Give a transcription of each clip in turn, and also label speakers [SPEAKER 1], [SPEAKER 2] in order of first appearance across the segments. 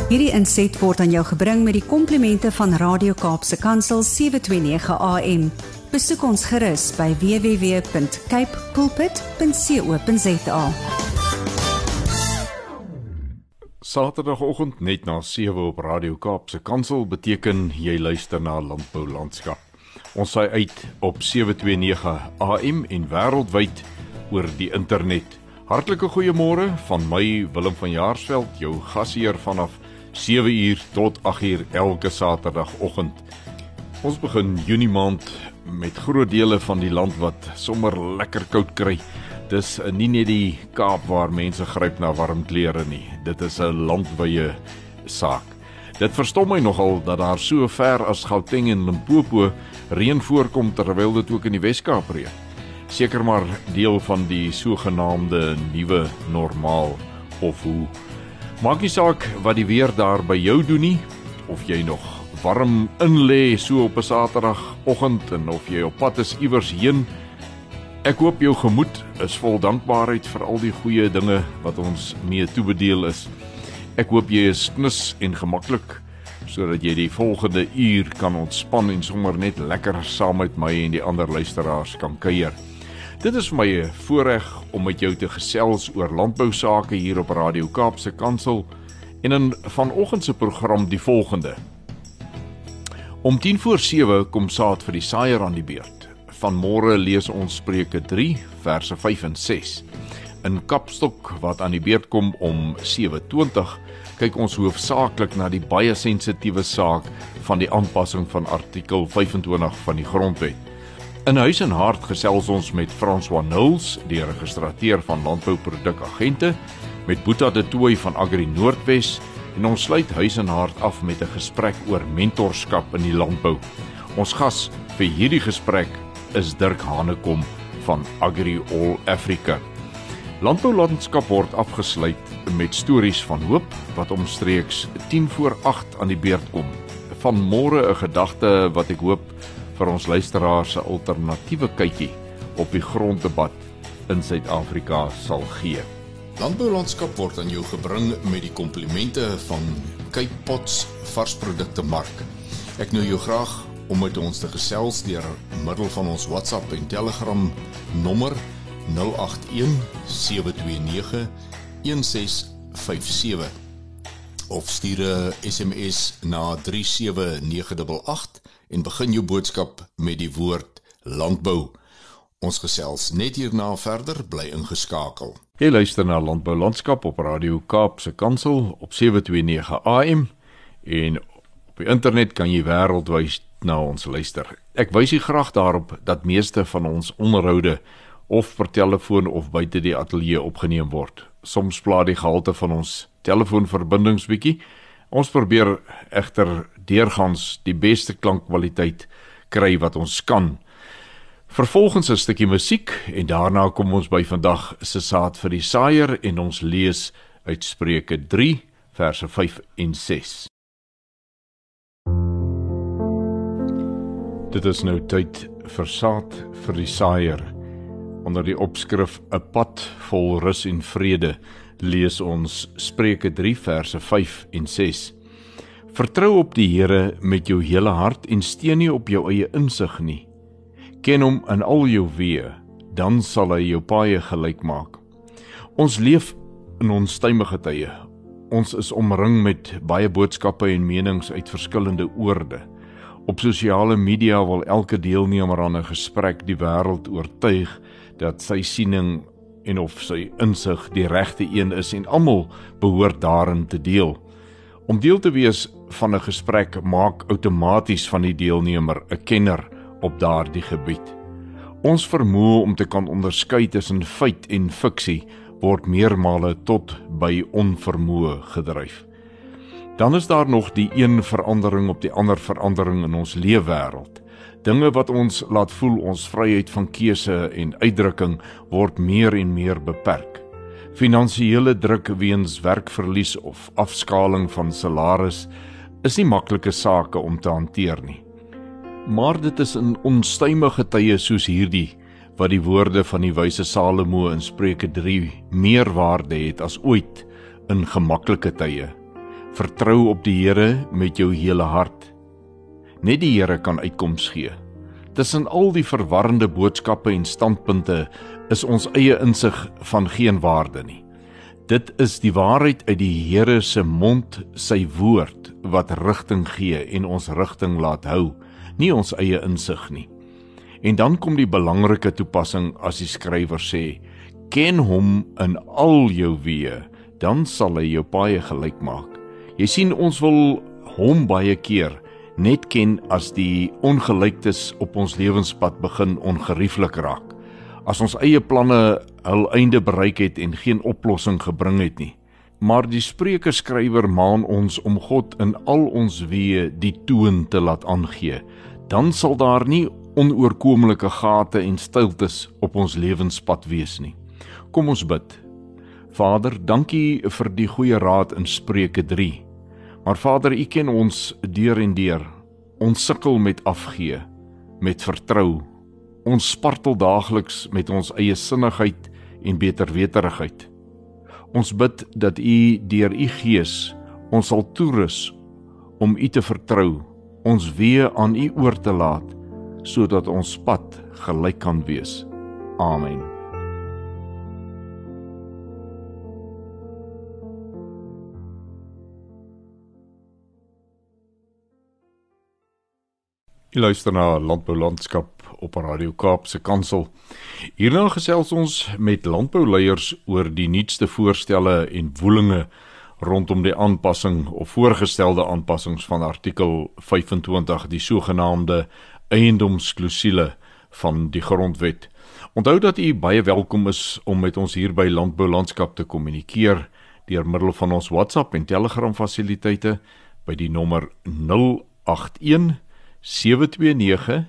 [SPEAKER 1] Hierdie inset word aan jou gebring met die komplimente van Radio Kaapse Kansel 729 AM. Besoek ons gerus by www.cape pulpit.co.za.
[SPEAKER 2] Saterdagoggend net na 7 op Radio Kaapse Kansel beteken jy luister na Landbou Landskap. Ons saai uit op 729 AM en wêreldwyd oor die internet. Hartlike goeiemôre van my Willem van Jaarsveld, jou gasheer vanaf 7 uur tot 8 uur elke Saterdagoggend. Ons begin Junie maand met groot dele van die land wat sommer lekker koud kry. Dis nie net die Kaap waar mense gryp na warm klere nie. Dit is 'n landwyse saak. Dit verstom my nogal dat daar so ver as Gauteng en Limpopo reën voorkom terwyl dit ook in die Wes-Kaap reën. Seker maar deel van die sogenaamde nuwe normaal of hoe. Maak nie saak wat die weer daar by jou doen nie, of jy nog warm inlê so op 'n Saterdagoggend en of jy op pad is iewers heen. Ek hoop jou gemoed is vol dankbaarheid vir al die goeie dinge wat ons mee toebedeel is. Ek hoop jy is knus en gemaklik, sodat jy die volgende uur kan ontspan en sommer net lekker saam met my en die ander luisteraars kan kuier. Dit is vir my 'n voorreg om met jou te gesels oor landbou sake hier op Radio Kaapse Kansel en in vanoggend se program die volgende. Om 7:10 kom saad vir die saaier aan die beurt. Vanmôre lees ons Spreuke 3 verse 5 en 6. In Kapstok wat aan die beurt kom om 7:20 kyk ons hoofsaaklik na die baie sensitiewe saak van die aanpassing van artikel 25 van die Grondwet. In Huis en Hart gesels ons met François Nulls, die registrateur van landbouprodukagente, met Boeta de Tooy van Agri Noordwes en ons sluit Huis en Hart af met 'n gesprek oor mentorskap in die landbou. Ons gas vir hierdie gesprek is Dirk Hanekom van Agri All Africa. Landbou Landskap word afgesluit met stories van hoop wat omstreeks 7:50 aan die beurt kom. Vanmôre 'n gedagte wat ek hoop vir ons luisteraars 'n alternatiewe kykie op die gronddebat in Suid-Afrika sal gee.
[SPEAKER 3] Landbou Landskap word aan jou gebring met die komplimente van Cape Pots varsprodukte mark. Ek nooi jou graag om met ons te gesels deur middel van ons WhatsApp en Telegram nommer 081 729 1657 of stuur 'n SMS na 37988 en begin jou boodskap met die woord landbou. Ons gesels net hierna verder, bly ingeskakel.
[SPEAKER 2] Jy luister na Landbou Landskap op Radio Kaapse Kansel op 729 AM en op die internet kan jy wêreldwyd na ons luister. Ek wys u graag daarop dat meeste van ons onderhoude of per telefoon of buite die ateljee opgeneem word. Soms pla die gehalte van ons telefoonverbindings bietjie. Ons probeer egter deurgangs die beste klankkwaliteit kry wat ons kan. Vervolgens 'n stukkie musiek en daarna kom ons by vandag se saad vir die saaier en ons lees uit Spreuke 3 verse 5 en 6. Dit is nou tyd vir saad vir die saaier. Onder die opskrif 'n pad vol rus en vrede lees ons Spreuke 3 verse 5 en 6. Vertrou op die Here met jou hele hart en steun nie op jou eie insig nie. Ken hom in al jou weë, dan sal hy jou paaie gelyk maak. Ons leef in onstuimige tye. Ons is omring met baie boodskappe en menings uit verskillende oorde. Op sosiale media wil elke deelnemer aan 'n gesprek die wêreld oortuig dat sy siening en of sy insig die regte een is en almal behoort daarin te deel. Om deel te wees van 'n gesprek maak outomaties van die deelnemer 'n kenner op daardie gebied. Ons vermoë om te kan onderskei tussen feit en fiksie word meermale tot by onvermoë gedryf. Dan is daar nog die een verandering op die ander verandering in ons leefwêreld. Dinge wat ons laat voel ons vryheid van keuse en uitdrukking word meer en meer beperk. Finansiële druk weens werkverlies of afskaling van salaris is nie maklike sake om te hanteer nie. Maar dit is in onstuimige tye soos hierdie wat die woorde van die wyse Salomo in Spreuke 3 meer waarde het as ooit in gemaklike tye. Vertrou op die Here met jou hele hart. Net die Here kan uitkoms gee. Tussen al die verwarrende boodskappe en standpunte is ons eie insig van geen waarde nie. Dit is die waarheid uit die Here se mond, sy woord, wat rigting gee en ons rigting laat hou, nie ons eie insig nie. En dan kom die belangrike toepassing as die skrywer sê, ken hom in al jou weë, dan sal hy jou paaie gelyk maak. Jy sien, ons wil hom baie keer net ken as die ongelyktes op ons lewenspad begin ongerieflik raak. As ons eie planne hul einde bereik het en geen oplossing gebring het nie. Maar die Spreuke skrywer maan ons om God in al ons weë die toon te laat aangee. Dan sal daar nie onoorkomelike gate en stiltes op ons lewenspad wees nie. Kom ons bid. Vader, dankie vir die goeie raad in Spreuke 3. Maar Vader, U ken ons deur en deur. Ons sukkel met afgee, met vertrou. Ons spartel daagliks met ons eie sinnigheid en beterweterigheid. Ons bid dat U deur U Gees ons sal toerus om U te vertrou, ons weë aan U oor te laat, sodat ons pad gelyk kan wees. Amen. Jy luister na Landbou Landskap op Radio Kaapse Kansel. Hierna gesels ons met landbouleiers oor die nuutste voorstelle en woelinge rondom die aanpassing of voorgestelde aanpassings van artikel 25, die sogenaamde eiendomsklousule van die grondwet. Onthou dat u baie welkom is om met ons hier by Landbou Landskap te kommunikeer deur middel van ons WhatsApp en Telegram fasiliteite by die nommer 081 729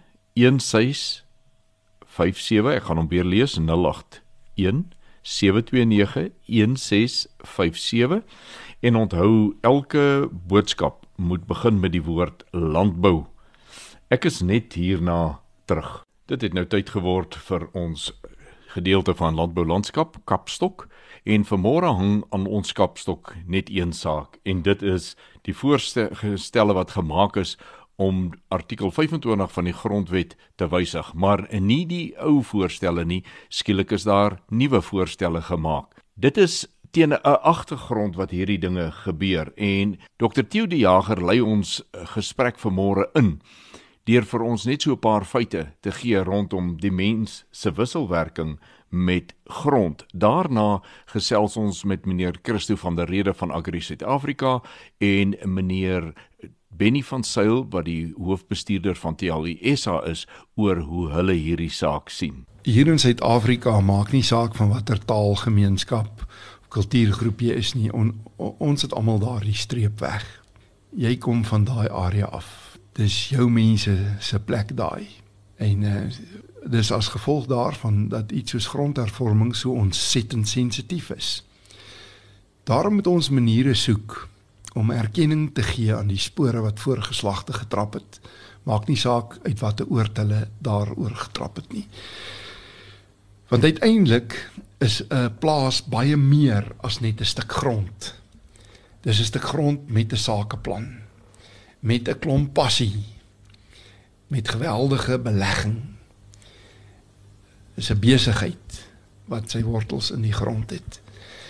[SPEAKER 2] 1657. Ek gaan hom weer lees, 081 729 1657. En onthou, elke boodskap moet begin met die woord landbou. Ek is net hierna terug. Dit het nou tyd geword vir ons gedeelte van Landbou Landskap, Kapstok, en vanmôre hang aan ons kapstok net een saak, en dit is die voorstelle wat gemaak is om artikel 25 van die grondwet te wysig, maar nie die ou voorstelle nie, skielik is daar nuwe voorstelle gemaak. Dit is teen 'n agtergrond wat hierdie dinge gebeur, en Dr. Theo de Jager lei ons gesprek vanmôre in, deur vir ons net so 'n paar feite te gee rondom die mens se wisselwerking met grond. Daarna gesels ons met meneer Christo van der Rede van Agri Suid-Afrika en meneer Benny van Sail, wat die hoofbestuurder van TLU SA is, oor hoe hulle hierdie saak sien.
[SPEAKER 4] Hier in Suid-Afrika maak nie saak van watter taalgemeenskap of kultuurgroep jy is nie. Ons het almal daardie streep weg. Jy kom van daai area af. Dis jou mense se plek daai. En dis as gevolg daarvan dat iets soos grondhervorming so ontsettend sensitief is. Daarom moet ons maniere soek om erkenning te gee aan die spore wat voorgeslagte getrap het. Maak nie saak uit watter oord hulle daaroor getrap het nie. Want uiteindelik is 'n plaas baie meer as net 'n stuk grond. Dis 'n stuk grond met 'n sakeplan, met 'n klomp passie, met geweldige belegging. Dis 'n besigheid wat sy wortels in die grond het.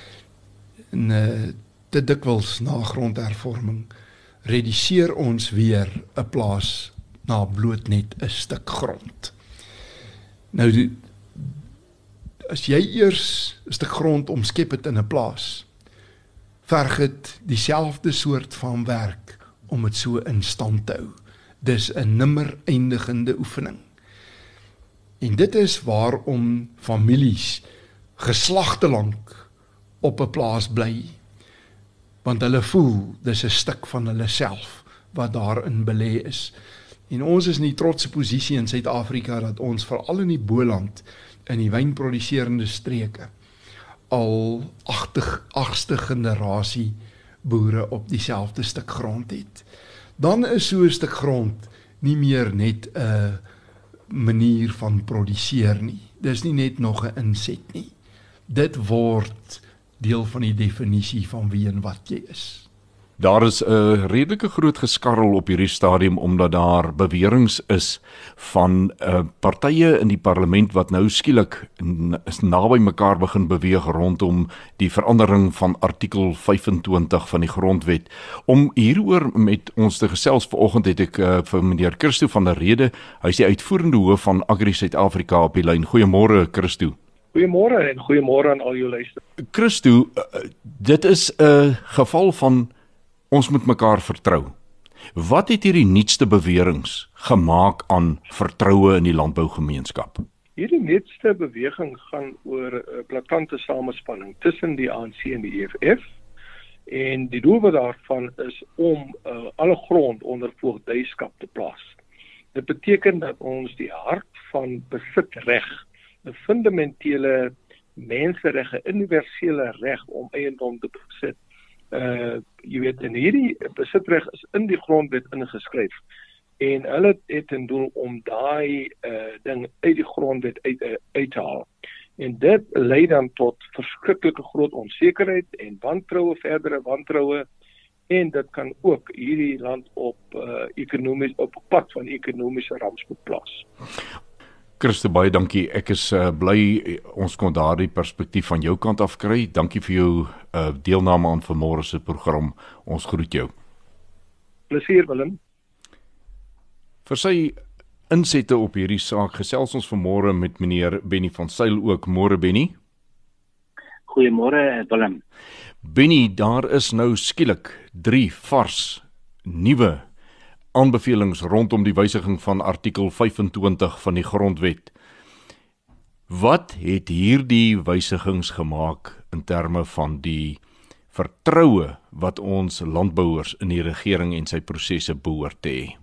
[SPEAKER 4] En te dikwels na grondhervorming reduseer ons weer 'n plaas na bloot net 'n stuk grond. Nou, as jy eers 'n stuk grond omskep het in 'n plaas, verg dit dieselfde soort van werk om dit so in stand te hou. Dis 'n nimmer eindigende oefening. En dit is waarom families geslagte lank op 'n plaas bly, want hulle voel dis 'n stuk van hulle self wat daarin belê is. En ons is in die trotse posisie in Suid-Afrika dat ons veral in die Boland, in die wynproduserende streke, al 8ste generasie boere op dieselfde stuk grond het. Dan is so 'n stuk grond nie meer net 'n manier van produseer nie. Dis nie net nog 'n inset nie. Dit word deel van die definisie van wie en wat jy is.
[SPEAKER 2] Daar is 'n redelike groot geskarrel op hierdie stadium omdat daar beweringe is van partye in die parlement wat nou skielik is naby mekaar begin beweeg rondom die verandering van artikel 25 van die grondwet. Om hieroor met ons te gesels vanoggend het ek vir meneer Christo van der Rede, hy is die uitvoerende hoof van Agri Suid-Afrika op die lyn. Goeiemôre Christo.
[SPEAKER 5] Goeiemôre en goeiemôre aan al jou luisteraars.
[SPEAKER 2] Christo, dit is 'n geval van ons moet mekaar vertrou. Wat het hierdie nuutste beweringe gemaak aan vertroue in die landbougemeenskap?
[SPEAKER 5] Hierdie nuutste beweging gaan oor 'n blakante samespanning tussen die ANC en die EFF. En die doel daarvan is om alle grond onder voogdyskap te plaas. Dit beteken dat ons die hart van besitreg, 'n fundamentele mensereg, 'n universele reg om eiendom te besit. Jy weet, en hierdie besitreg is in die grondwet ingeskryf. En hulle het 'n doel om daai ding uit die grondwet uit te haal. En dit lei dan tot verskriklike groot onsekerheid en wantroue, verdere wantroue, en dit kan ook hierdie land op op pad van ekonomiese rampspoed plaas.
[SPEAKER 2] Christo, baie dankie. Ek is bly ons kon daardie perspektief van jou kant af kry. Dankie vir jou deelname aan vanmôre se program. Ons groet jou.
[SPEAKER 5] Plesier, Willem.
[SPEAKER 2] Vir sy insette op hierdie saak gesels ons vanmôre met meneer Benny van Sail ook. Môre Benny.
[SPEAKER 6] Goeiemôre Willem.
[SPEAKER 2] Benny, daar is nou skielik 3 vars nuwe aanbevelings rondom die wysiging van artikel 25 van die grondwet. Wat het hierdie wysigings gemaak in terme van die vertroue wat ons landbouers in die regering en sy prosesse behoort te hê?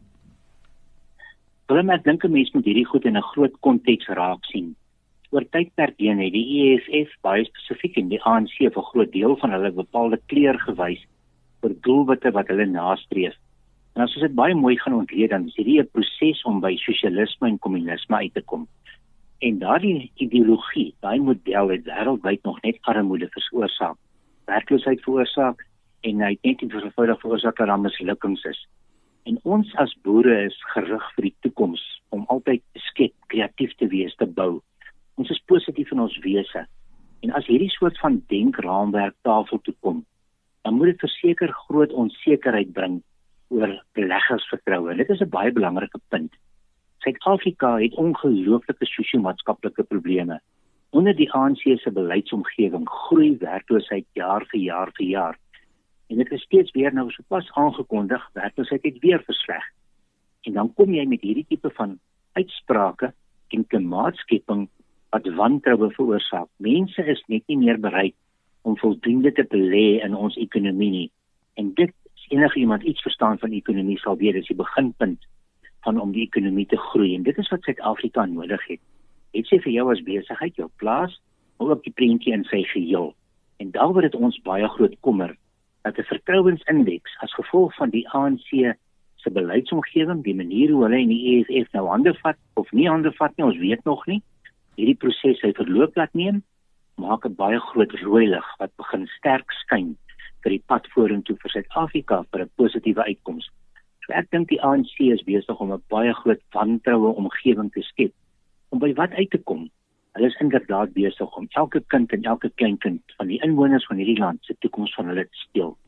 [SPEAKER 6] Willem, ek dink 'n mens moet hierdie goed in 'n groot konteks raak sien. Oor tydperk heen het die EFF baie spesifiek en die ANC vir 'n groot deel van hulle bepaalde kleur gewys vir doelwitte wat hulle nastreef. En as ons dit baie mooi gaan ontleed, dan is hierdie 'n proses om by sosialisme en kommunisme uit te kom. En daardie ideologie, daai model het wêreldwyd nog net armoede veroorsaak, werkloosheid veroorsaak en hy het net nie veroorsaak dat daar mislukkings is. En ons as boere is gerig vir die toekoms om altyd te skep, kreatief te wees, te bou. Ons is positief in ons wese. En as hierdie soort van denkraamwerk tafel toe kom, dan moet dit verseker groot onsekerheid bring oor beleggersvertroue. En dit is 'n baie belangrike punt. Suid-Afrika het ongelooflike sosio-maatskaplike probleme. Onder die ANC se beleidsomgewing groei werkloosheid jaar vir jaar. En dit is steeds weer nou sopas aangekondig, werkloosheid het weer versleg. En dan kom jy met hierdie tipe van uitsprake en klimaatskepping wat wantroue veroorsaak. Mense is net nie meer bereid om voldoende te belê in ons ekonomie nie. En dit, as enige iemand iets verstaan van ekonomie sal weet, is die beginpunt van om die ekonomie te groei. En dit is wat Suid-Afrika nodig het. Dit sê vir jou as besigheid, jou plaas, maar ook die prentjie in sy geheel. En daaroor het ons baie groot kommer dat 'n vertrouensindeks as gevolg van die ANC se beleidsomgewing, die manier hoe hulle en die EFF nou hande vat of nie hande vat nie, ons weet nog nie. Hierdie proses hy verloop laat neem, maak 'n baie groot rooi lig wat begin sterk skyn vir die pad vorentoe vir Suid-Afrika vir 'n positiewe uitkoms. So ek dink die ANC is besig om 'n baie groot wantroue omgewing te skep om by wat uit te kom. Hulle is inderdaad besig om elke kind en elke kleinkind van die inwoners van hierdie land se toekoms van hulle te steel.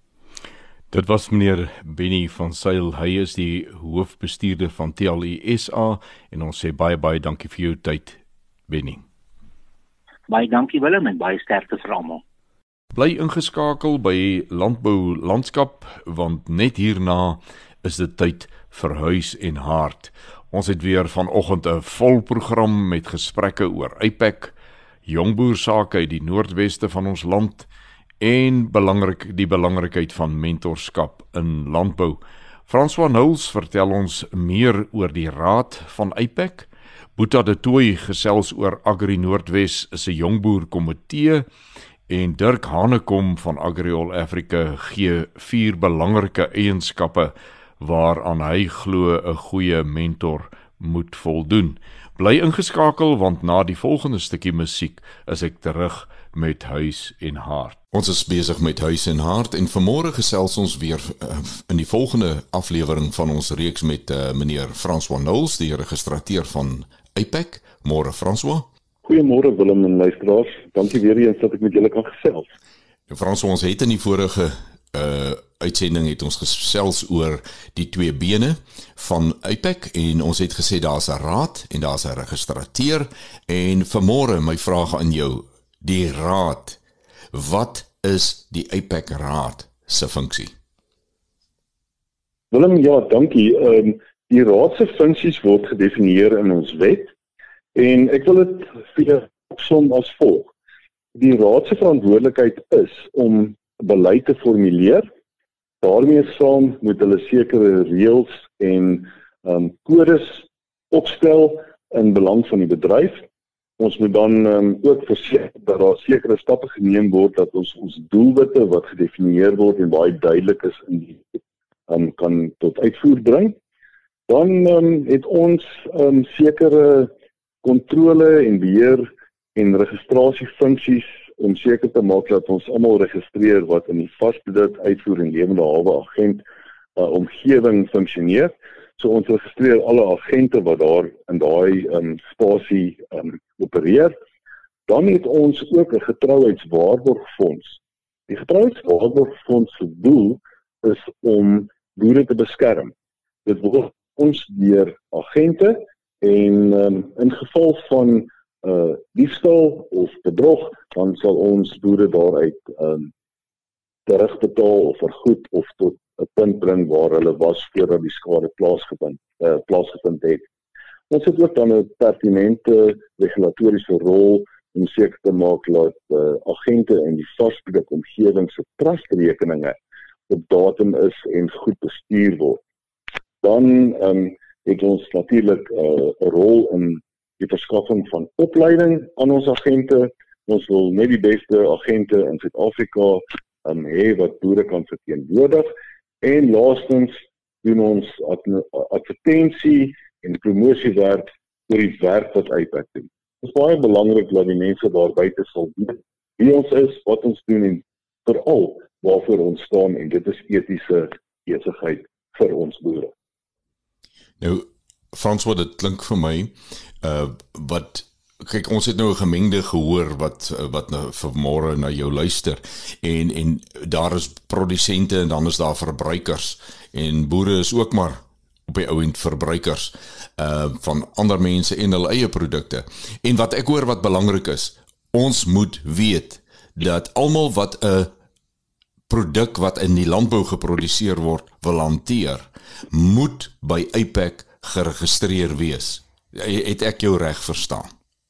[SPEAKER 2] Dit was meneer Benny van Sail. Hy is die hoofbestuurder van TLISA en ons sê baie dankie vir jou tyd, Benny.
[SPEAKER 6] Baie dankie Willem en baie sterkte vir almal.
[SPEAKER 2] Bly ingeskakel by Landbou Landskap, want net hierna is dit tyd vir Huis en Hart. Ons het weer vanoggend 'n vol program met gesprekke oor APEC, jongboersake uit die noordweste van ons land en die belangrikheid van mentorskap in landbou. François Nouls vertel ons meer oor die raad van APEC. Boeta de Tooy gesels oor Agri Noordwes se jongboerkomitee en Dirk Hanekom van AgriAll Africa gee 4 belangrike eienskappe waaraan hy glo 'n goeie mentor moet voldoen. Bly ingeskakel want na die volgende stukkie musiek is ek terug met Huis en Hart.
[SPEAKER 3] Ons is besig met Huis en Hart en vanmôre gesels ons weer in die volgende aflewering van ons reeks met meneer François Knowles, die registrateur van APEC. Môre François.
[SPEAKER 7] Goeiemôre Willem en luisteraars. Dankie weer eens dat ek met julle kan gesels.
[SPEAKER 3] François, ons het in die vorige uitsending het ons gesels oor die twee bene van APEC en ons het gesê daar's 'n raad en daar's 'n registrateur en vanmôre my vraag aan jou, die raad, wat is die APEC raad se funksie?
[SPEAKER 7] Willem, ja, dankie. Die raad se funksies word gedefinieer in ons wet en ek wil dit vir jou opsom as volg. Die raad se verantwoordelikheid is om beleid te formuleer. Daarmee saam moet hulle sekere reëls en kodes opstel in belang van die bedryf. Ons moet dan ook verseker dat daar sekere stappe geneem word dat ons doelwitte wat gedefinieer word en baie duidelik is in die kan tot uitvoer bring. Dan het ons sekere kontrole en beheer en registrasiefunksies om seker te maak dat ons almal registreer wat in die vasproduk uitvoer en lewende hawe agent omgewing funksioneer. So ons registreer alle agente wat daar in daai spasie opereer. Dan het ons ook 'n getrouheidswaarborgfonds. Die getrouheidswaarborgfonds se doel is om boere te beskerm. Dit word ons deur agente en in geval van diefstal of bedrog, dan sal ons boere daaruit terugbetaal of vergoed of tot 'n punt bring waar hulle was voordat die skade plaasgevind het. Ons het ook dan 'n pertinente regulatoriese rol om seker te maak dat agente in die vasproduk omgewing se trustrekeninge op datum is en goed bestuur word. Dan het ons natuurlik 'n rol in die verskaffing van opleiding aan ons agente. Ons wil net die beste agente in Suid-Afrika hê wat boere kan verteenwoordig. En laastens doen ons advertensie en promosiewerk oor die werk wat APEC doen. Dit is baie belangrik dat die mense daar buite sal weet wie ons is, wat ons doen en veral waarvoor ons staan en dit is etiese besigheid vir ons boere.
[SPEAKER 3] Nou François, dit klink vir my kyk, ons het nou 'n gemengde gehoor wat nou vanmôre na jou luister en daar is produsente en dan is daar verbruikers en boere is ook maar op die ou end verbruikers van ander mense en hulle eie produkte. En wat ek hoor wat belangrik is, ons moet weet dat almal wat 'n produk wat in die landbou geproduseer word wil hanteer, moet by APEC geregistreer wees. Het ek jou reg verstaan?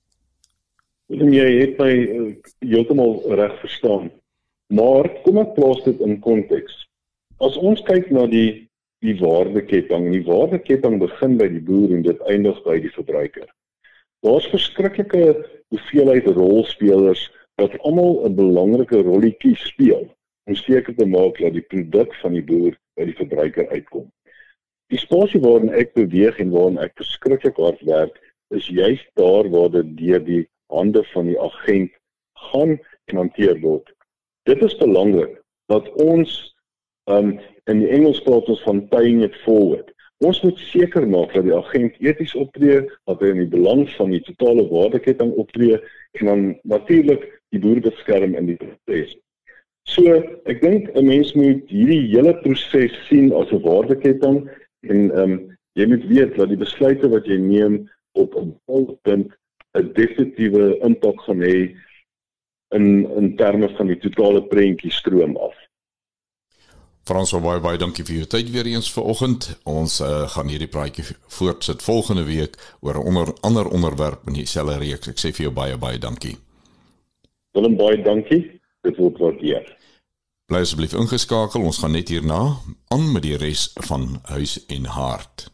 [SPEAKER 7] Jy het my heeltemal reg verstaan. Maar kom ek plaas dit in konteks. As ons kyk na die waardeketting, die waardeketting begin by die boer en dit eindig by die verbruiker. Daar's verskriklike hoeveelheid rolspelers wat almal 'n belangrike rolletjie speel om seker te maak dat die produk van die boer by die verbruiker uitkom. Die spasie waarin ek beweeg en waarin ek verskriklik hard werk, is juist daar waar dit deur die hande van die agent gaan en hanteer word. Dit is belangrik dat ons in die Engels praat ons van paying it forward. Ons moet seker maak dat die agent eties optree, dat hy in die belang van die totale waardeketting optree en dan natuurlik die boer beskerm in die proses. So, ek dink 'n mens moet hierdie hele proses sien as 'n waardeketting en jy moet weet dat die besluite wat jy neem op 'n bepaalde punt 'n definitiewe impak gaan hê in terme van die totale prentjie stroom af.
[SPEAKER 3] François, baie dankie vir jou tyd weer eens vanoggend. Ons gaan hierdie praatjie voortsit volgende week oor 'n ander onderwerp in dieselfde reeks. Ek sê vir jou baie dankie.
[SPEAKER 7] Willem, baie dankie. Dit word waardeer.
[SPEAKER 3] Bly asseblief ingeskakel. Ons gaan net hierna aan met die res van Huis en Hart.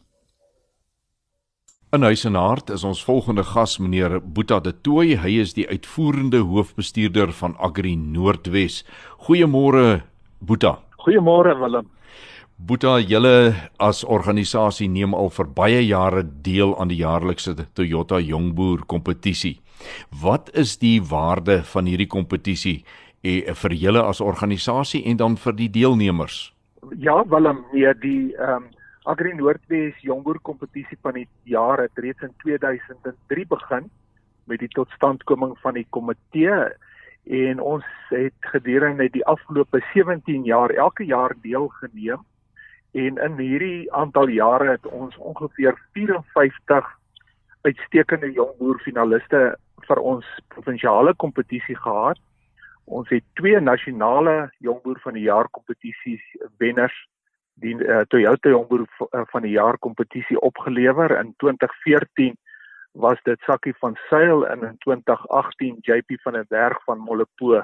[SPEAKER 2] In Huis en Hart is ons volgende gas meneer Boeta de Tooy. Hy is die uitvoerende hoofbestuurder van Agri Noordwes. Goeiemôre Boeta.
[SPEAKER 8] Goeiemôre Willem.
[SPEAKER 2] Boeta, julle as organisasie neem al vir baie jare deel aan die jaarlikse Toyota Jongboer kompetisie. Wat is die waarde van hierdie kompetisie vir julle as organisasie en dan vir die deelnemers?
[SPEAKER 8] Ja, Willem, nee, die Agri Noordwes Jongboer kompetisie van die jaar het reeds in 2003 begin met die totstandkoming van die komitee en ons het gedurende die afgelope 17 jaar elke jaar deelgeneem en in hierdie aantal jare het ons ongeveer 54 uitstekende jongboer finaliste vir ons provinsiale kompetisie gehad. Ons het 2 nasionale jongboer van die jaar kompetisies wenners die Toyota jongboer van die jaar kompetisie opgelewer. In 2014 was dit Sakkie van Sail en in 2018 JP van der Berg van Mollepo.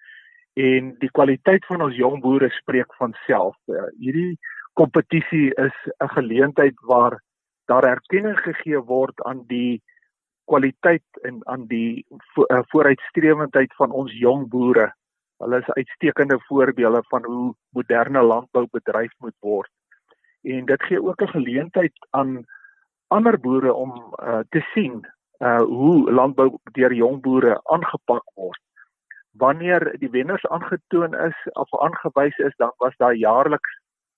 [SPEAKER 8] En die kwaliteit van ons jongboere spreek van self. Hierdie kompetisie is 'n geleentheid waar daar erkenning gegee word aan die kwaliteit en aan die vooruitstrewendheid van ons jong boere. Hulle is uitstekende voorbeelde van hoe moderne landbou bedryf moet word. En dit gee ook 'n geleentheid aan ander boere om te sien hoe landbou deur jong boere aangepak word. Wanneer die wenners aangetoon is of aangewys is, dan was daar jaarliks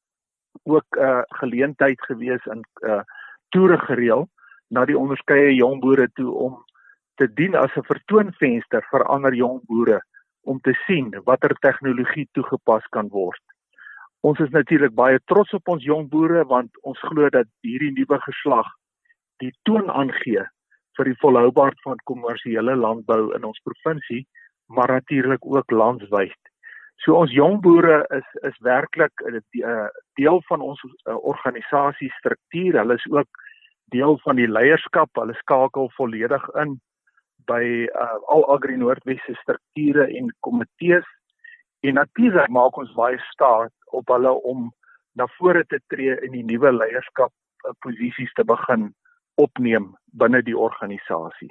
[SPEAKER 8] ook geleentheid gewees in toere gereël na die onderskeie jong boere toe om te dien as 'n vertoonvenster vir ander jong boere om te sien watter tegnologie toegepas kan word. Ons is natuurlik baie trots op ons jong boere want ons glo dat hierdie nuwe geslag die toon aangee vir die volhoubaarheid van kommersiële landbou in ons provinsie, maar natuurlik ook landwyd. So ons jong boere is werklik 'n deel van ons organisasiestruktuur. Hulle is ook deel van die leierskap. Hulle skakel volledig in by al Agri Noordwes se strukture en komitees. En natuurlik maak ons baie staat op hulle om na vore te tree in die nuwe leierskap posisies te begin opneem binne die organisasie.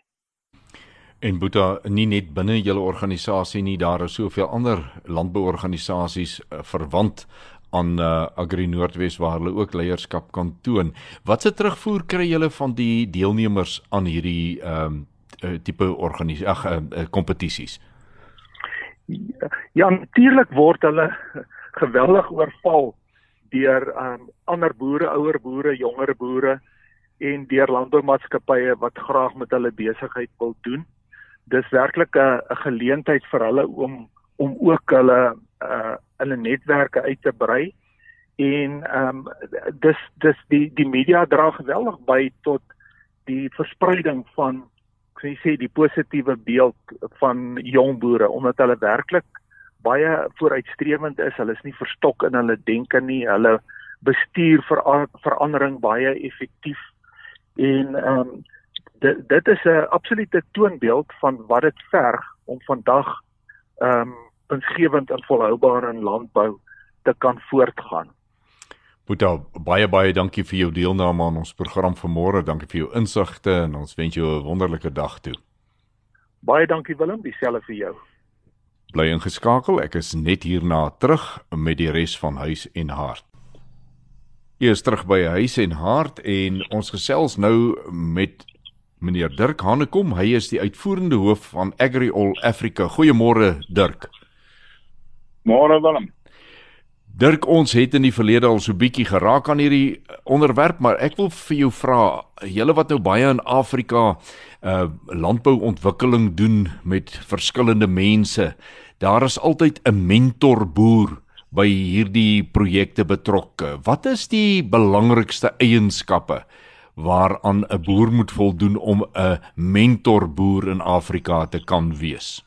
[SPEAKER 2] En Boeta, nie net binne julle organisasie nie, daar is soveel ander landbouorganisasies verwant aan Agri Noordwes waar hulle ook leierskap kan toon. Wat se terugvoer kry julle van die deelnemers aan hierdie tipe kompetisies?
[SPEAKER 8] Ja, natuurlik word hulle geweldig oorval deur ander boere, ouer boere, jonger boere en deur landboumaatskappye wat graag met hulle besigheid wil doen. Dis werklik 'n geleentheid vir hulle om ook hulle netwerke uit te brei en dis die media dra geweldig by tot die verspreiding van, kan jy sê, die positiewe beeld van jong boere omdat hulle werklik baie vooruitstrewend is. Hulle is nie verstok in hulle denke nie. Hulle bestuur verandering baie effektief en dit is 'n absolute toonbeeld van wat dit verg om vandag winsgewend en volhoubaar in landbou te kan voortgaan.
[SPEAKER 2] Boeta, baie dankie vir jou deelname aan ons program vanmôre. Dankie vir jou insigte en ons wens jou 'n wonderlike dag toe.
[SPEAKER 8] Baie dankie Willem, dieselfde vir jou.
[SPEAKER 2] Bly ingeskakel, ek is net hierna terug met die res van Huis en Hart. Jy is terug by Huis en Hart en ons gesels nou met meneer Dirk Hanekom. Hy is die uitvoerende hoof van Agri All Africa. Goeiemôre Dirk.
[SPEAKER 9] Môre Willem.
[SPEAKER 2] Dirk, ons het in die verlede al so bietjie geraak aan hierdie onderwerp, maar ek wil vir jou vra, julle wat nou baie in Afrika landbouontwikkeling doen met verskillende mense, daar is altyd 'n mentorboer by hierdie projekte betrokke. Wat is die belangrikste eienskappe waaraan 'n boer moet voldoen om 'n mentorboer in Afrika te kan wees?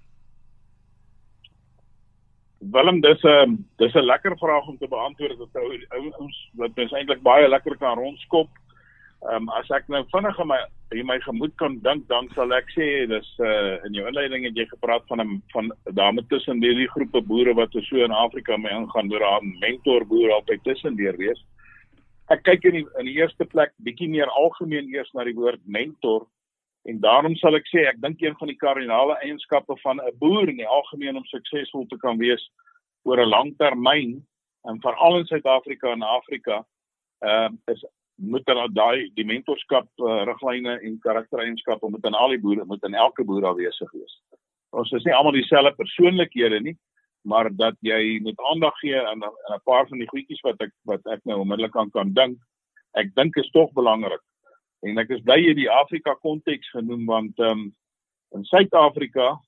[SPEAKER 9] Willem, dis 'n lekker vraag om te beantwoord wat mens eintlik baie lekker kan rondskop. As ek nou vinnig in my gemoed kan dink, dan sal ek sê dis in jou inleiding het jy gepraat van daarmee tussen die groepe boere wat so in Afrika mee ingaan, waar daar 'n mentorboer altyd tussendeur wees. Ek kyk in die eerste plek bietjie meer algemeen eers na die woord mentor. En daarom sal ek sê, ek dink een van die kardinale eienskappe van 'n boer in die algemeen om suksesvol te kan wees oor 'n lang termyn, en veral in Suid-Afrika en Afrika, is moet dan die mentorskap riglyne en karaktereienskappe moet in al die boere, moet in elke boer aanwesig wees. Ons is nie almal dieselfde persoonlikhede nie, maar dat jy moet aandag gee aan 'n paar van die goedjies wat ek nou onmiddellik aan kan dink. Ek dink is tog belangrik. En ek is bly jy die Afrika konteks genoem, want in Suid-Afrika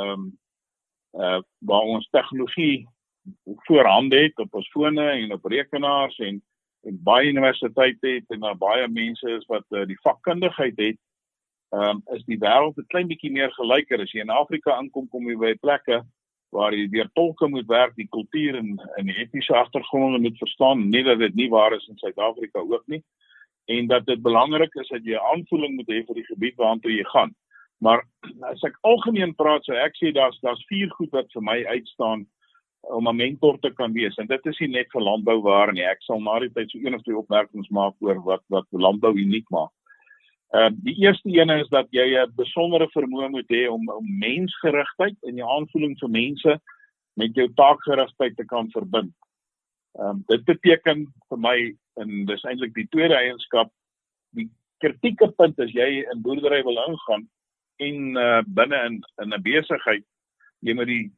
[SPEAKER 9] waar ons tegnologie voorhande het op ons fone en op rekenaars en baie universiteite het en daar baie mense is wat die vakkundigheid het, is die wêreld 'n klein bietjie meer gelyker. As jy in Afrika inkom, kom jy by plekke waar jy deur tolke moet werk, die kultuur en die etniese agtergronde moet verstaan, nie dat dit nie waar is in Suid-Afrika ook nie, en dat dit belangrik is dat jy 'n aanvoeling moet hê vir die gebied waartoe jy gaan. Maar as ek algemeen praat, so ek sê daar's 4 goed wat vir my uitstaan om 'n mentor te kan wees, en dit is nie net vir landbou waar nie. Ek sal na die tyd so 1 of 2 opmerkings maak oor wat landbou uniek maak. Die eerste ene is dat jy 'n besondere vermoë moet hê om mensgerigtheid en jou aanvoeling vir mense met jou taakgerigtheid te kan verbind. Dit beteken vir my, en dis eintlik die tweede eienskap, die kritieke punt as jy in boerdery wil ingaan en binne in 'n besigheid, jy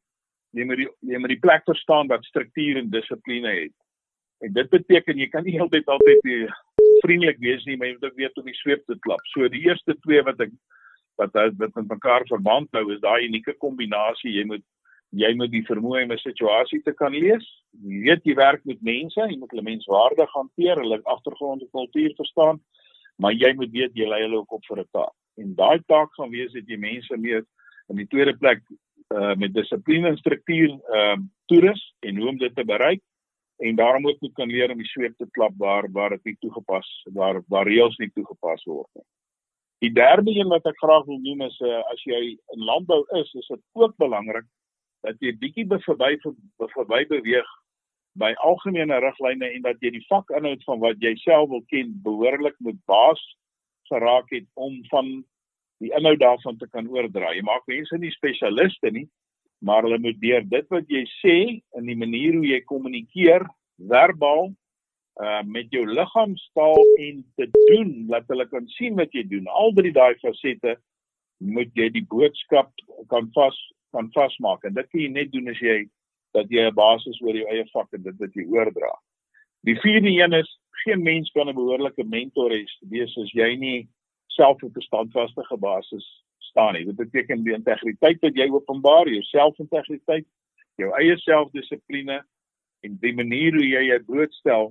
[SPEAKER 9] moet die plek verstaan wat struktuur en dissipline het. En dit beteken jy kan nie altyd vriendelik wees nie, maar jy moet ook weet om die sweep te klap. So die eerste 2 wat met mekaar verband hou, is daai unieke kombinasie. Jy moet die vermoë om 'n situasie te kan lees. Jy weet jy werk met mense, jy moet hulle menswaardig hanteer, hulle agtergrond en kultuur verstaan, maar jy moet weet jy lei hulle ook op vir 'n taak. En daai taak gaan wees dat jy mense meer in die tweede plek met dissipline en struktuur toerus en hoe om dit te bereik, en daarom ook moet kan leer om die sweep te klap waar dit nie toegepas, waar reëls nie toegepas word nie. Die derde een wat ek graag wil noem is, as jy in landbou is dit ook belangrik dat jy bietjie verby beweeg by algemene riglyne en dat jy die vakinhoud van wat jy self wil ken behoorlik moet baas geraak het om van die inhoud daarvan te kan oordra. Jy maak mense nie spesialiste nie, maar hulle moet deur dit wat jy sê en die manier hoe jy kommunikeer, verbaal, met jou liggaamstaal en te doen, dat hulle kan sien wat jy doen. Al drie daai fasette moet jy die boodskap kan vasmaak. En dit kan jy net doen as jy 'n basis oor jou eie vak en dit wat jy oordra. Die vierde een is, geen mens kan 'n behoorlike mentor wees as jy nie self op 'n standvastige basis staan nie. Dit beteken die integriteit wat jy openbaar, jou selfintegriteit, jou eie selfdissipline en die manier hoe jy jou blootstel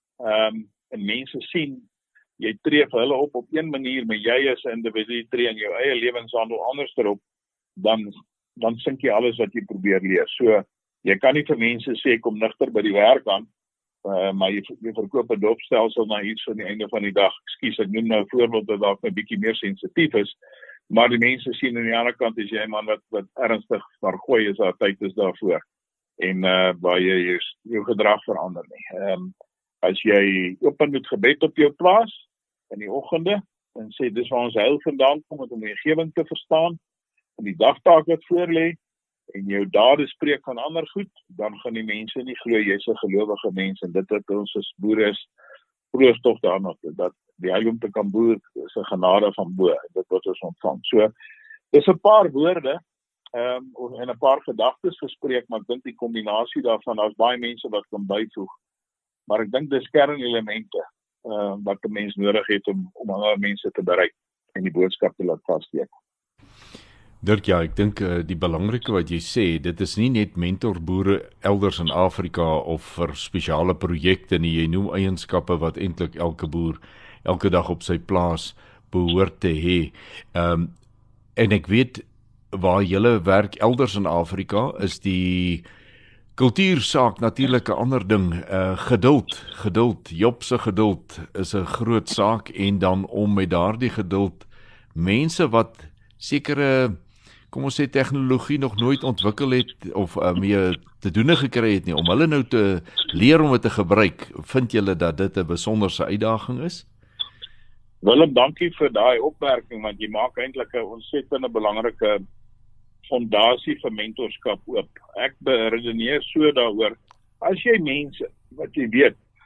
[SPEAKER 9] en mense sien, jy tree vir hulle op een manier, maar jy as 'n individu tree in jou eie lewenshandel anders erop, dan sink jy alles wat jy probeer leer. So, jy kan nie vir mense sê, kom nigter by die werk aan, maar jy verkoop 'n dopstelsel na iets aan die einde van die dag. Ekskuus, ek noem nou 'n voorbeeld wat dalk 'n bietjie meer sensitief is, maar die mense sien aan die ander kant as jy 'n man wat ernstig maar gooi is, daar tyd is daarvoor. En waar jy jou gedrag verander nie. As jy open met gebed op jou plaas in die oggende en sê dis waar ons heil vandaan kom om die omgewing te verstaan en die dagtaak wat voor lê en jou dade spreek van ander goed, dan gaan die mense nie glo jy's 'n gelowige mens, en dit wat ons as boere is, proos tog daarna dat die heil om te kan boer is 'n genade van bo, dit wat ons ontvang. So, dis 'n paar woorde en 'n paar gedagtes gespreek, maar ek dink die kombinasie daarvan, daar's baie mense wat kan byvoeg. Maar ek dink dis kernelemente wat 'n mens nodig het om ander mense te bereik en die boodskap te laat vassteek.
[SPEAKER 2] Dirk, ja, ek dink die belangrike wat jy sê, dit is nie net mentorboere elders in Afrika of vir spesiale projekte nie, jy noem eienskappe wat eintlik elke boer elke dag op sy plaas behoort te hê. En ek weet waar julle werk elders in Afrika is die kultuursaak natuurlik 'n ander ding. Geduld, Job se geduld is 'n groot saak, en dan om met daardie geduld mense wat sekere, kom ons sê, tegnologie nog nooit ontwikkel het of mee te doen gekry het nie, om hulle nou te leer om dit te gebruik. Vind julle dat dit 'n besonderse uitdaging is?
[SPEAKER 9] Willem, dankie vir daai opmerking, want jy maak eintlik 'n ontsettende belangrike fondasie vir mentorskap oop. Ek beredeneer so daaroor, as jy mense wat jy weet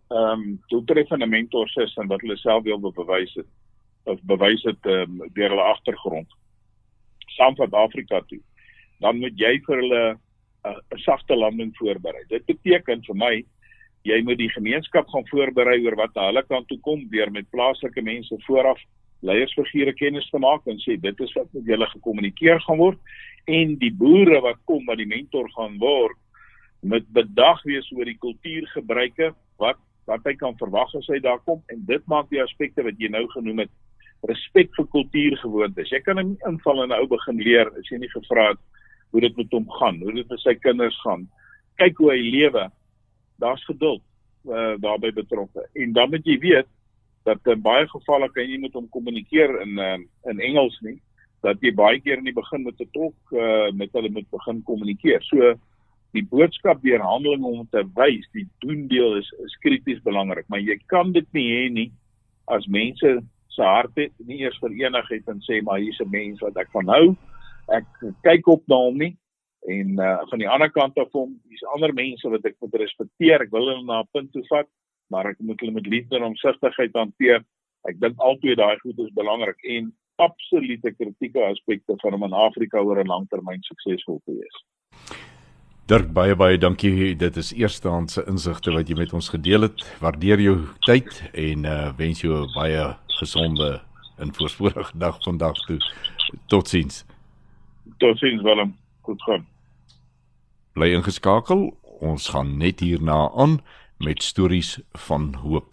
[SPEAKER 9] doeltreffende mentors is en wat hulle self wil bewys het deur hulle agtergrond saam van Afrika toe, dan moet jy vir hulle 'n sagte landing voorberei. Dit beteken vir my, jy moet die gemeenskap gaan voorberei oor wat na hulle kant toe kom, deur met plaaslike mense vooraf leiersfigure kennis te maak en sê, dit is wat met julle gekommunikeer gaan word, en die boere wat kom, wat die mentor gaan word, moet bedag wees oor die kultuurgebruike, wat hy kan verwag as hy daar kom, en dit maak die aspekte wat jy nou genoem het, respek vir kultuurgewoontes. Jy kan hom inval en 'n ou begin leer, as jy nie gevra het hoe dit met hom gaan, hoe dit met sy kinders gaan, kyk hoe hy lewe, daar's geduld daarbey betrokke, en dan moet jy weet, dat in baie gevalle kan jy nie met hom kommunikeer in Engels nie, dat jy baie keer in die begin met 'n tolk met hulle moet begin kommunikeer. So die boodskap deur handeling om te wys, die doendeel is krities belangrik, maar jy kan dit nie hê nie as mense se harte nie eers verenig het en sê, maar hier's 'n mens wat ek van hou, ek kyk op na hom nie, en van die ander kant af hier's ander mense wat ek moet respekteer, ek wil hulle na 'n punt toe vat, maar ek moet hulle met liefde en omsigtigheid hanteer. Ek dink altyd daai goed is belangrik, en absolute kritieke aspekte van om in Afrika oor 'n langtermyn suksesvol te wees.
[SPEAKER 2] Dirk, baie dankie. Dit is eerstehandse insigte wat jy met ons gedeel het. Waardeer jou tyd en wens jou 'n baie gesonde en voorspoedige dag vandag toe. Totsiens.
[SPEAKER 9] Totsiens, Willem. Goed gaan.
[SPEAKER 2] Bly ingeskakel. Ons gaan net hierna aan met stories van hoop.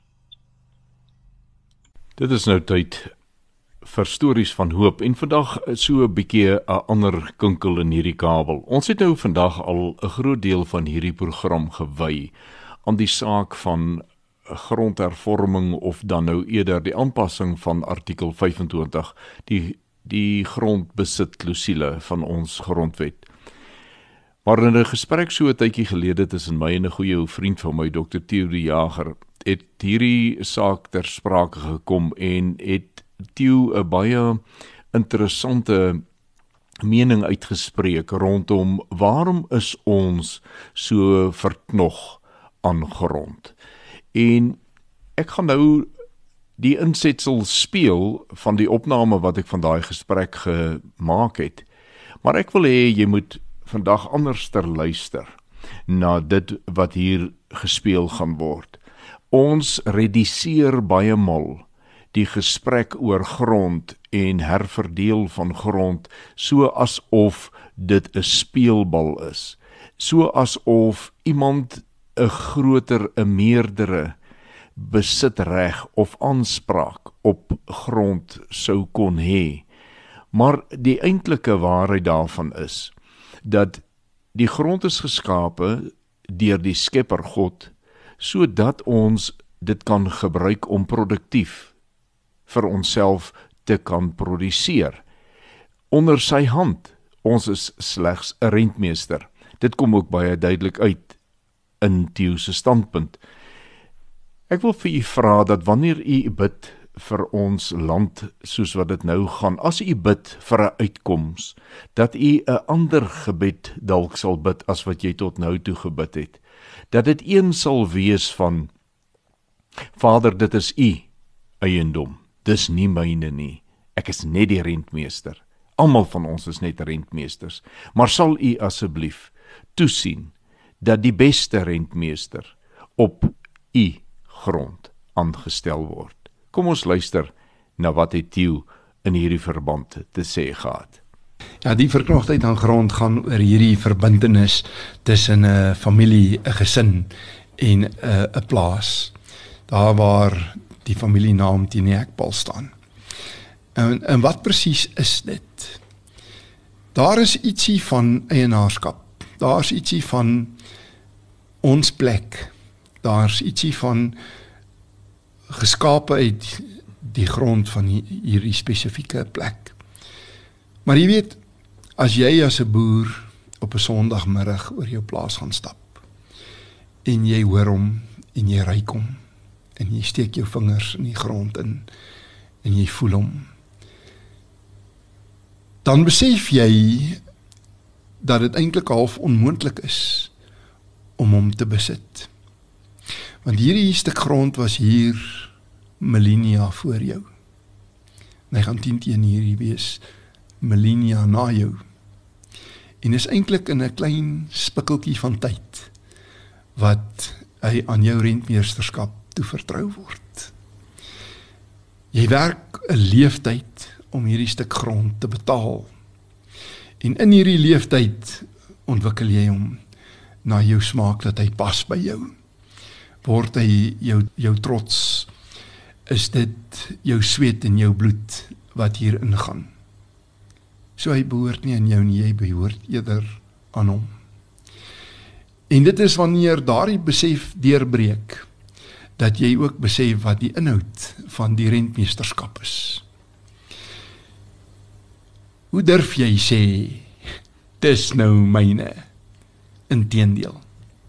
[SPEAKER 2] Dit is nou tyd vir stories van hoop, en vandag so 'n bietjie 'n ander kinkel in hierdie kabel. Ons het nou vandag al 'n groot deel van hierdie program gewy aan die saak van grondhervorming, of dan nou eerder die aanpassing van artikel 25, die grondbesitklousule van ons grondwet. Maar in 'n gesprek so 'n tydjie gelede tussen my en 'n goeie ou vriend van my, Dr. Theo de Jager, het hierdie saak ter sprake gekom, en het Theo 'n baie interessante mening uitgespreek rondom waarom is ons so verknog aan grond. En ek gaan nou die insetsel speel van die opname wat ek van daai gesprek gemaak het. Maar ek wil hê jy moet vandag anders ter luister na dit wat hier gespeel gaan word. Ons reduseer baie mal die gesprek oor grond en herverdeel van grond so asof dit 'n speelbal is. So asof iemand 'n groter, 'n meerdere besitreg of aanspraak op grond sou kon hê. Maar die eintlike waarheid daarvan is dat die grond is geskape deur die Skepper God, sodat ons dit kan gebruik om produktief vir onsself te kan produseer. Onder sy hand, ons is slegs 'n rentmeester. Dit kom ook baie duidelik uit in Theo se standpunt. Ek wil vir u vra dat wanneer u bid vir ons land soos wat dit nou gaan, as u bid vir 'n uitkoms, dat u 'n ander gebed dalk sal bid as wat jy tot nou toe gebid het. Dat dit een sal wees van, Vader, dit is u eiendom, dis nie myne nie, ek is net die rentmeester. Almal van ons is net rentmeesters, maar sal u asseblief toesien dat die beste rentmeester op u grond aangestel word. Kom ons luister na wat het Theo in hierdie verband te sê gehad.
[SPEAKER 4] Ja, die verknogtheid aan grond gaan oor hierdie verbintenis tussen 'n familie, 'n gesin en 'n plaas. Daar waar die familienaam teen die hekpaal staan. En wat presies is dit? Daar is ietsie van eienaarskap. Daar is ietsie van ons plek. Daar is ietsie van geskape uit die grond van hierdie spesifieke plek. Maar jy weet, as jy as 'n boer op 'n Sondagmiddag oor jou plaas gaan stap, en jy hoor hom, en jy ruik hom, en jy steek jou vingers in die grond in, en jy voel hom, dan besef jy dat dit eintlik half onmoontlik is om hom te besit. Want hierdie stuk grond was hier millennia voor jou. En hy gaan 10 teen hierdie wees millennia na jou. En is eintlik in 'n klein spikkeltjie van tyd wat hy aan jou rentmeesterskap toevertrou word. Jy werk 'n leeftyd om hierdie stuk grond te betaal. En in hierdie leeftyd ontwikkel jy hom na jou smaak dat hy pas by jou. Word hy jou trots, is dit jou sweet en jou bloed wat hier ingaan. So hy behoort nie aan jou nie, jy behoort eerder aan hom. En dit is wanneer daardie besef deurbreek, dat jy ook besef wat die inhoud van die rentmeesterskap is. Hoe durf jy sê, dis nou myne? Inteendeel.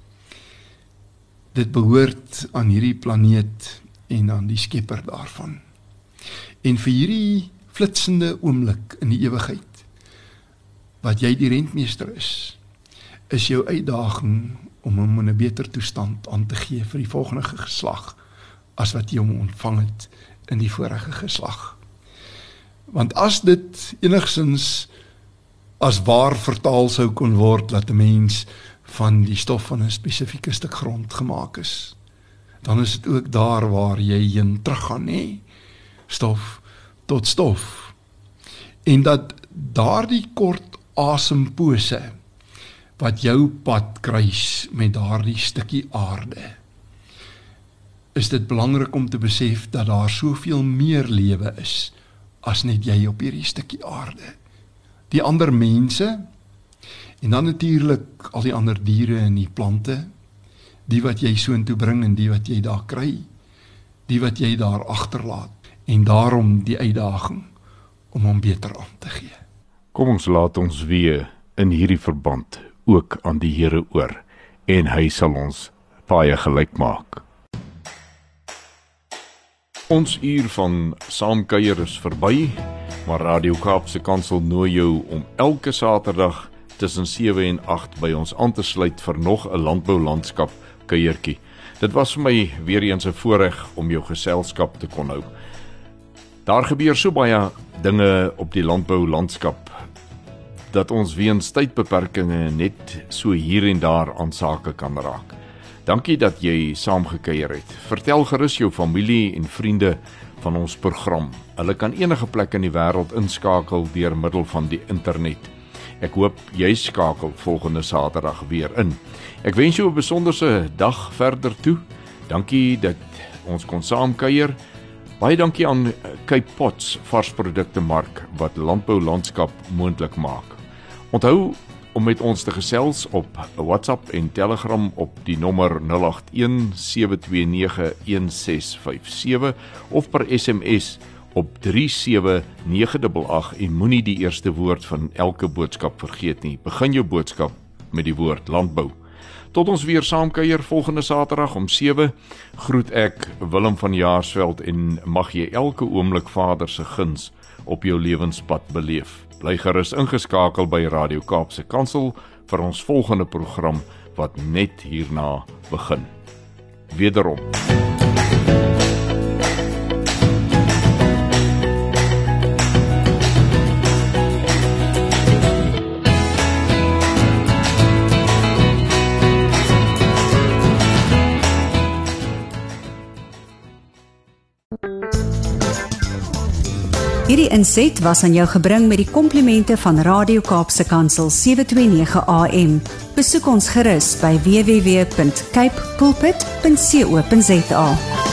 [SPEAKER 4] Dit behoort aan hierdie planeet en aan die skepper daarvan. En vir hierdie flitsende oomblik in die ewigheid, wat jy die rentmeester is jou uitdaging om hom in 'n beter toestand aan te gee vir die volgende geslag, as wat jy hom ontvang het in die vorige geslag. Want as dit enigstens as waar vertaal sou kon word, dat 'n mens van die stof van 'n spesifieke stuk grond gemaak is, dan is dit ook daar waar jy heen teruggaan, nee, stof tot stof. En dat daardie kort asempose wat jou pad kruis met daardie stukkie aarde, is dit belangrik om te besef dat daar soveel meer lewe is as net jy op hierdie stukkie aarde. Die ander mense, en dan natuurlik al die ander diere en die plante, die wat jy soontoe bring en die wat jy daar kry, die wat jy daar agterlaat, en daarom die uitdaging om hom beter aan te gee.
[SPEAKER 2] Kom ons laat ons weer in hierdie verband ook aan die Here oor, en hy sal ons baie gelyk maak. Ons uur van saamkuier is verby, maar Radio Kaapse Kansel nooi jou om elke Saterdag tussen 7 en 8 by ons aan te sluit vir nog 'n landboulandskap kuiertjie. Dit was vir my weer eens 'n voorreg om jou geselskap te kon hou. Daar gebeur so baie dinge op die landboulandskap dat ons weens tydbeperkings net so hier en daar aan sake kan raak. Dankie dat jy saamgekuier het. Vertel gerus jou familie en vriende van ons program. Hulle kan enige plek in die wêreld inskakel deur middel van die internet. Ek hoop jy skakel volgende Saterdag weer in. Ek wens jou 'n besonderse dag verder toe. Dankie dat ons kon saamkuier. Baie dankie aan Cape Pots varsprodukte mark wat landboulandskap moontlik maak. Onthou om met ons te gesels op WhatsApp en Telegram op die nommer 081-729-1657 of per SMS op 37988 en moenie die eerste woord van elke boodskap vergeet nie. Begin jou boodskap met die woord landbou. Tot ons weer saamkuier volgende Saterdag om 7, groet ek Willem van Jaarsveld en mag jy elke oomblik Vader se guns op jou lewenspad beleef. Bly gerus ingeskakel by Radio Kaapse Kansel vir ons volgende program wat net hierna begin. Wederom.
[SPEAKER 1] Hierdie inset was aan jou gebring met die komplimente van Radio Kaapse Kansel 729 AM. Besoek ons gerus by www.cape pulpit.co.za.